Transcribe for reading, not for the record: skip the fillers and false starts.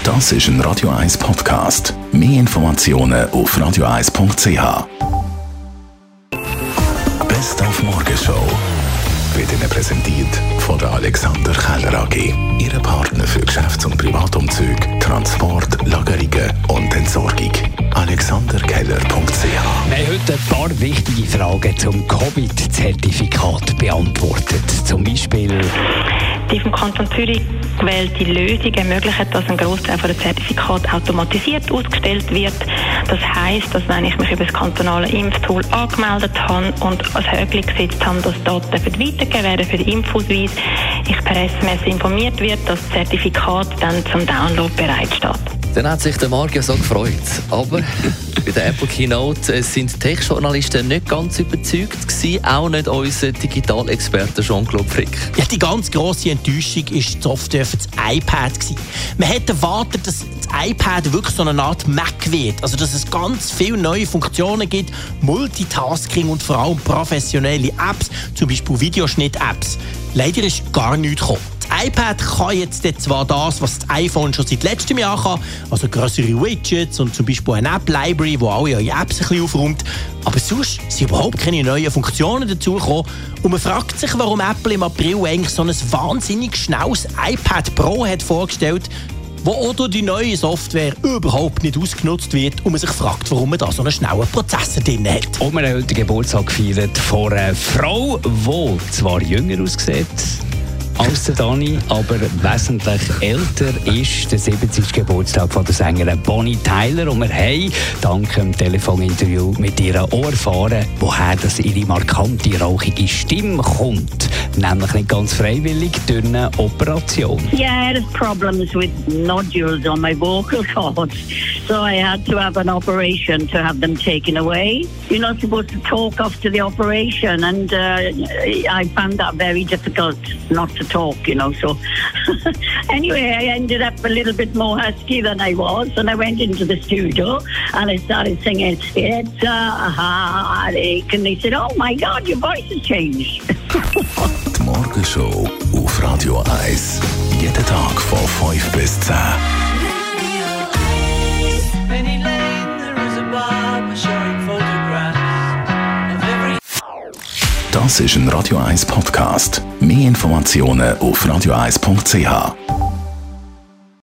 Das ist ein Radio 1 Podcast. Mehr Informationen auf radio1.ch. Best auf Morgenshow wird Ihnen präsentiert von der Alexander Keller AG. Ihre Partner für Geschäfts- und Privatumzüge, Transport, Lagerungen und Entsorgung. AlexanderKeller.ch. Wir haben heute ein paar wichtige Fragen zum Covid-Zertifikat beantwortet. Zum Beispiel: Die vom Kanton Zürich gewählte Lösung ermöglicht, dass ein Großteil der Zertifikate automatisiert ausgestellt wird. Das heisst, dass wenn ich mich über das kantonale Impftool angemeldet habe und als Häkchen gesetzt habe, dass Daten weitergegeben werden für den Impfausweis, ich per SMS informiert wird, dass das Zertifikat dann zum Download bereitsteht. Dann hat sich der Marc ja so gefreut. Aber bei der Apple Keynote sind Tech-Journalisten nicht ganz überzeugt gewesen, auch nicht unser Digitalexperte Jean-Claude Frick. Ja, die ganz grosse Enttäuschung war die Software für das iPad gewesen. Man hätte erwartet, dass das iPad wirklich so eine Art Mac wird. Also, dass es ganz viele neue Funktionen gibt, Multitasking und vor allem professionelle Apps, zum Beispiel Videoschnitt-Apps. Leider ist gar nichts gekommen. Das iPad kann jetzt zwar das, was das iPhone schon seit letztem Jahr kann, also grössere Widgets und zum Beispiel eine App-Library, wo alle eure Apps ein bisschen aufräumt, aber sonst sind überhaupt keine neuen Funktionen dazugekommen. Und man fragt sich, warum Apple im April eigentlich so ein wahnsinnig schnelles iPad Pro hat vorgestellt, wo auch durch die neue Software überhaupt nicht ausgenutzt wird und man sich fragt, warum man da so einen schnellen Prozessor drin hat. Und wir haben heute Geburtstag gefeiert von einer Frau, die zwar jünger aussieht als der Dani, aber wesentlich älter ist, der 70. Geburtstag von der Sängerin Bonnie Tyler. Und wir haben dank dem Telefoninterview mit ihr auch erfahren, woher das ihre markante, rauchige Stimme kommt. Nämlich nicht ganz freiwillig durch eine Operation. Yeah, I had problems with nodules on my vocal cords, so I had to have an operation to have them taken away. You're not supposed to talk after the operation, and I found that very difficult not to talk, so anyway, I ended up a little bit more husky than I was, and I went into the studio and I started singing, "It's a heartache," and they said, "Oh my God, your voice has changed." Die Morgenshow auf Radio 1. Jeden Tag von 5 bis 10. Das ist ein Radio 1 Podcast. Mehr Informationen auf radio1.ch.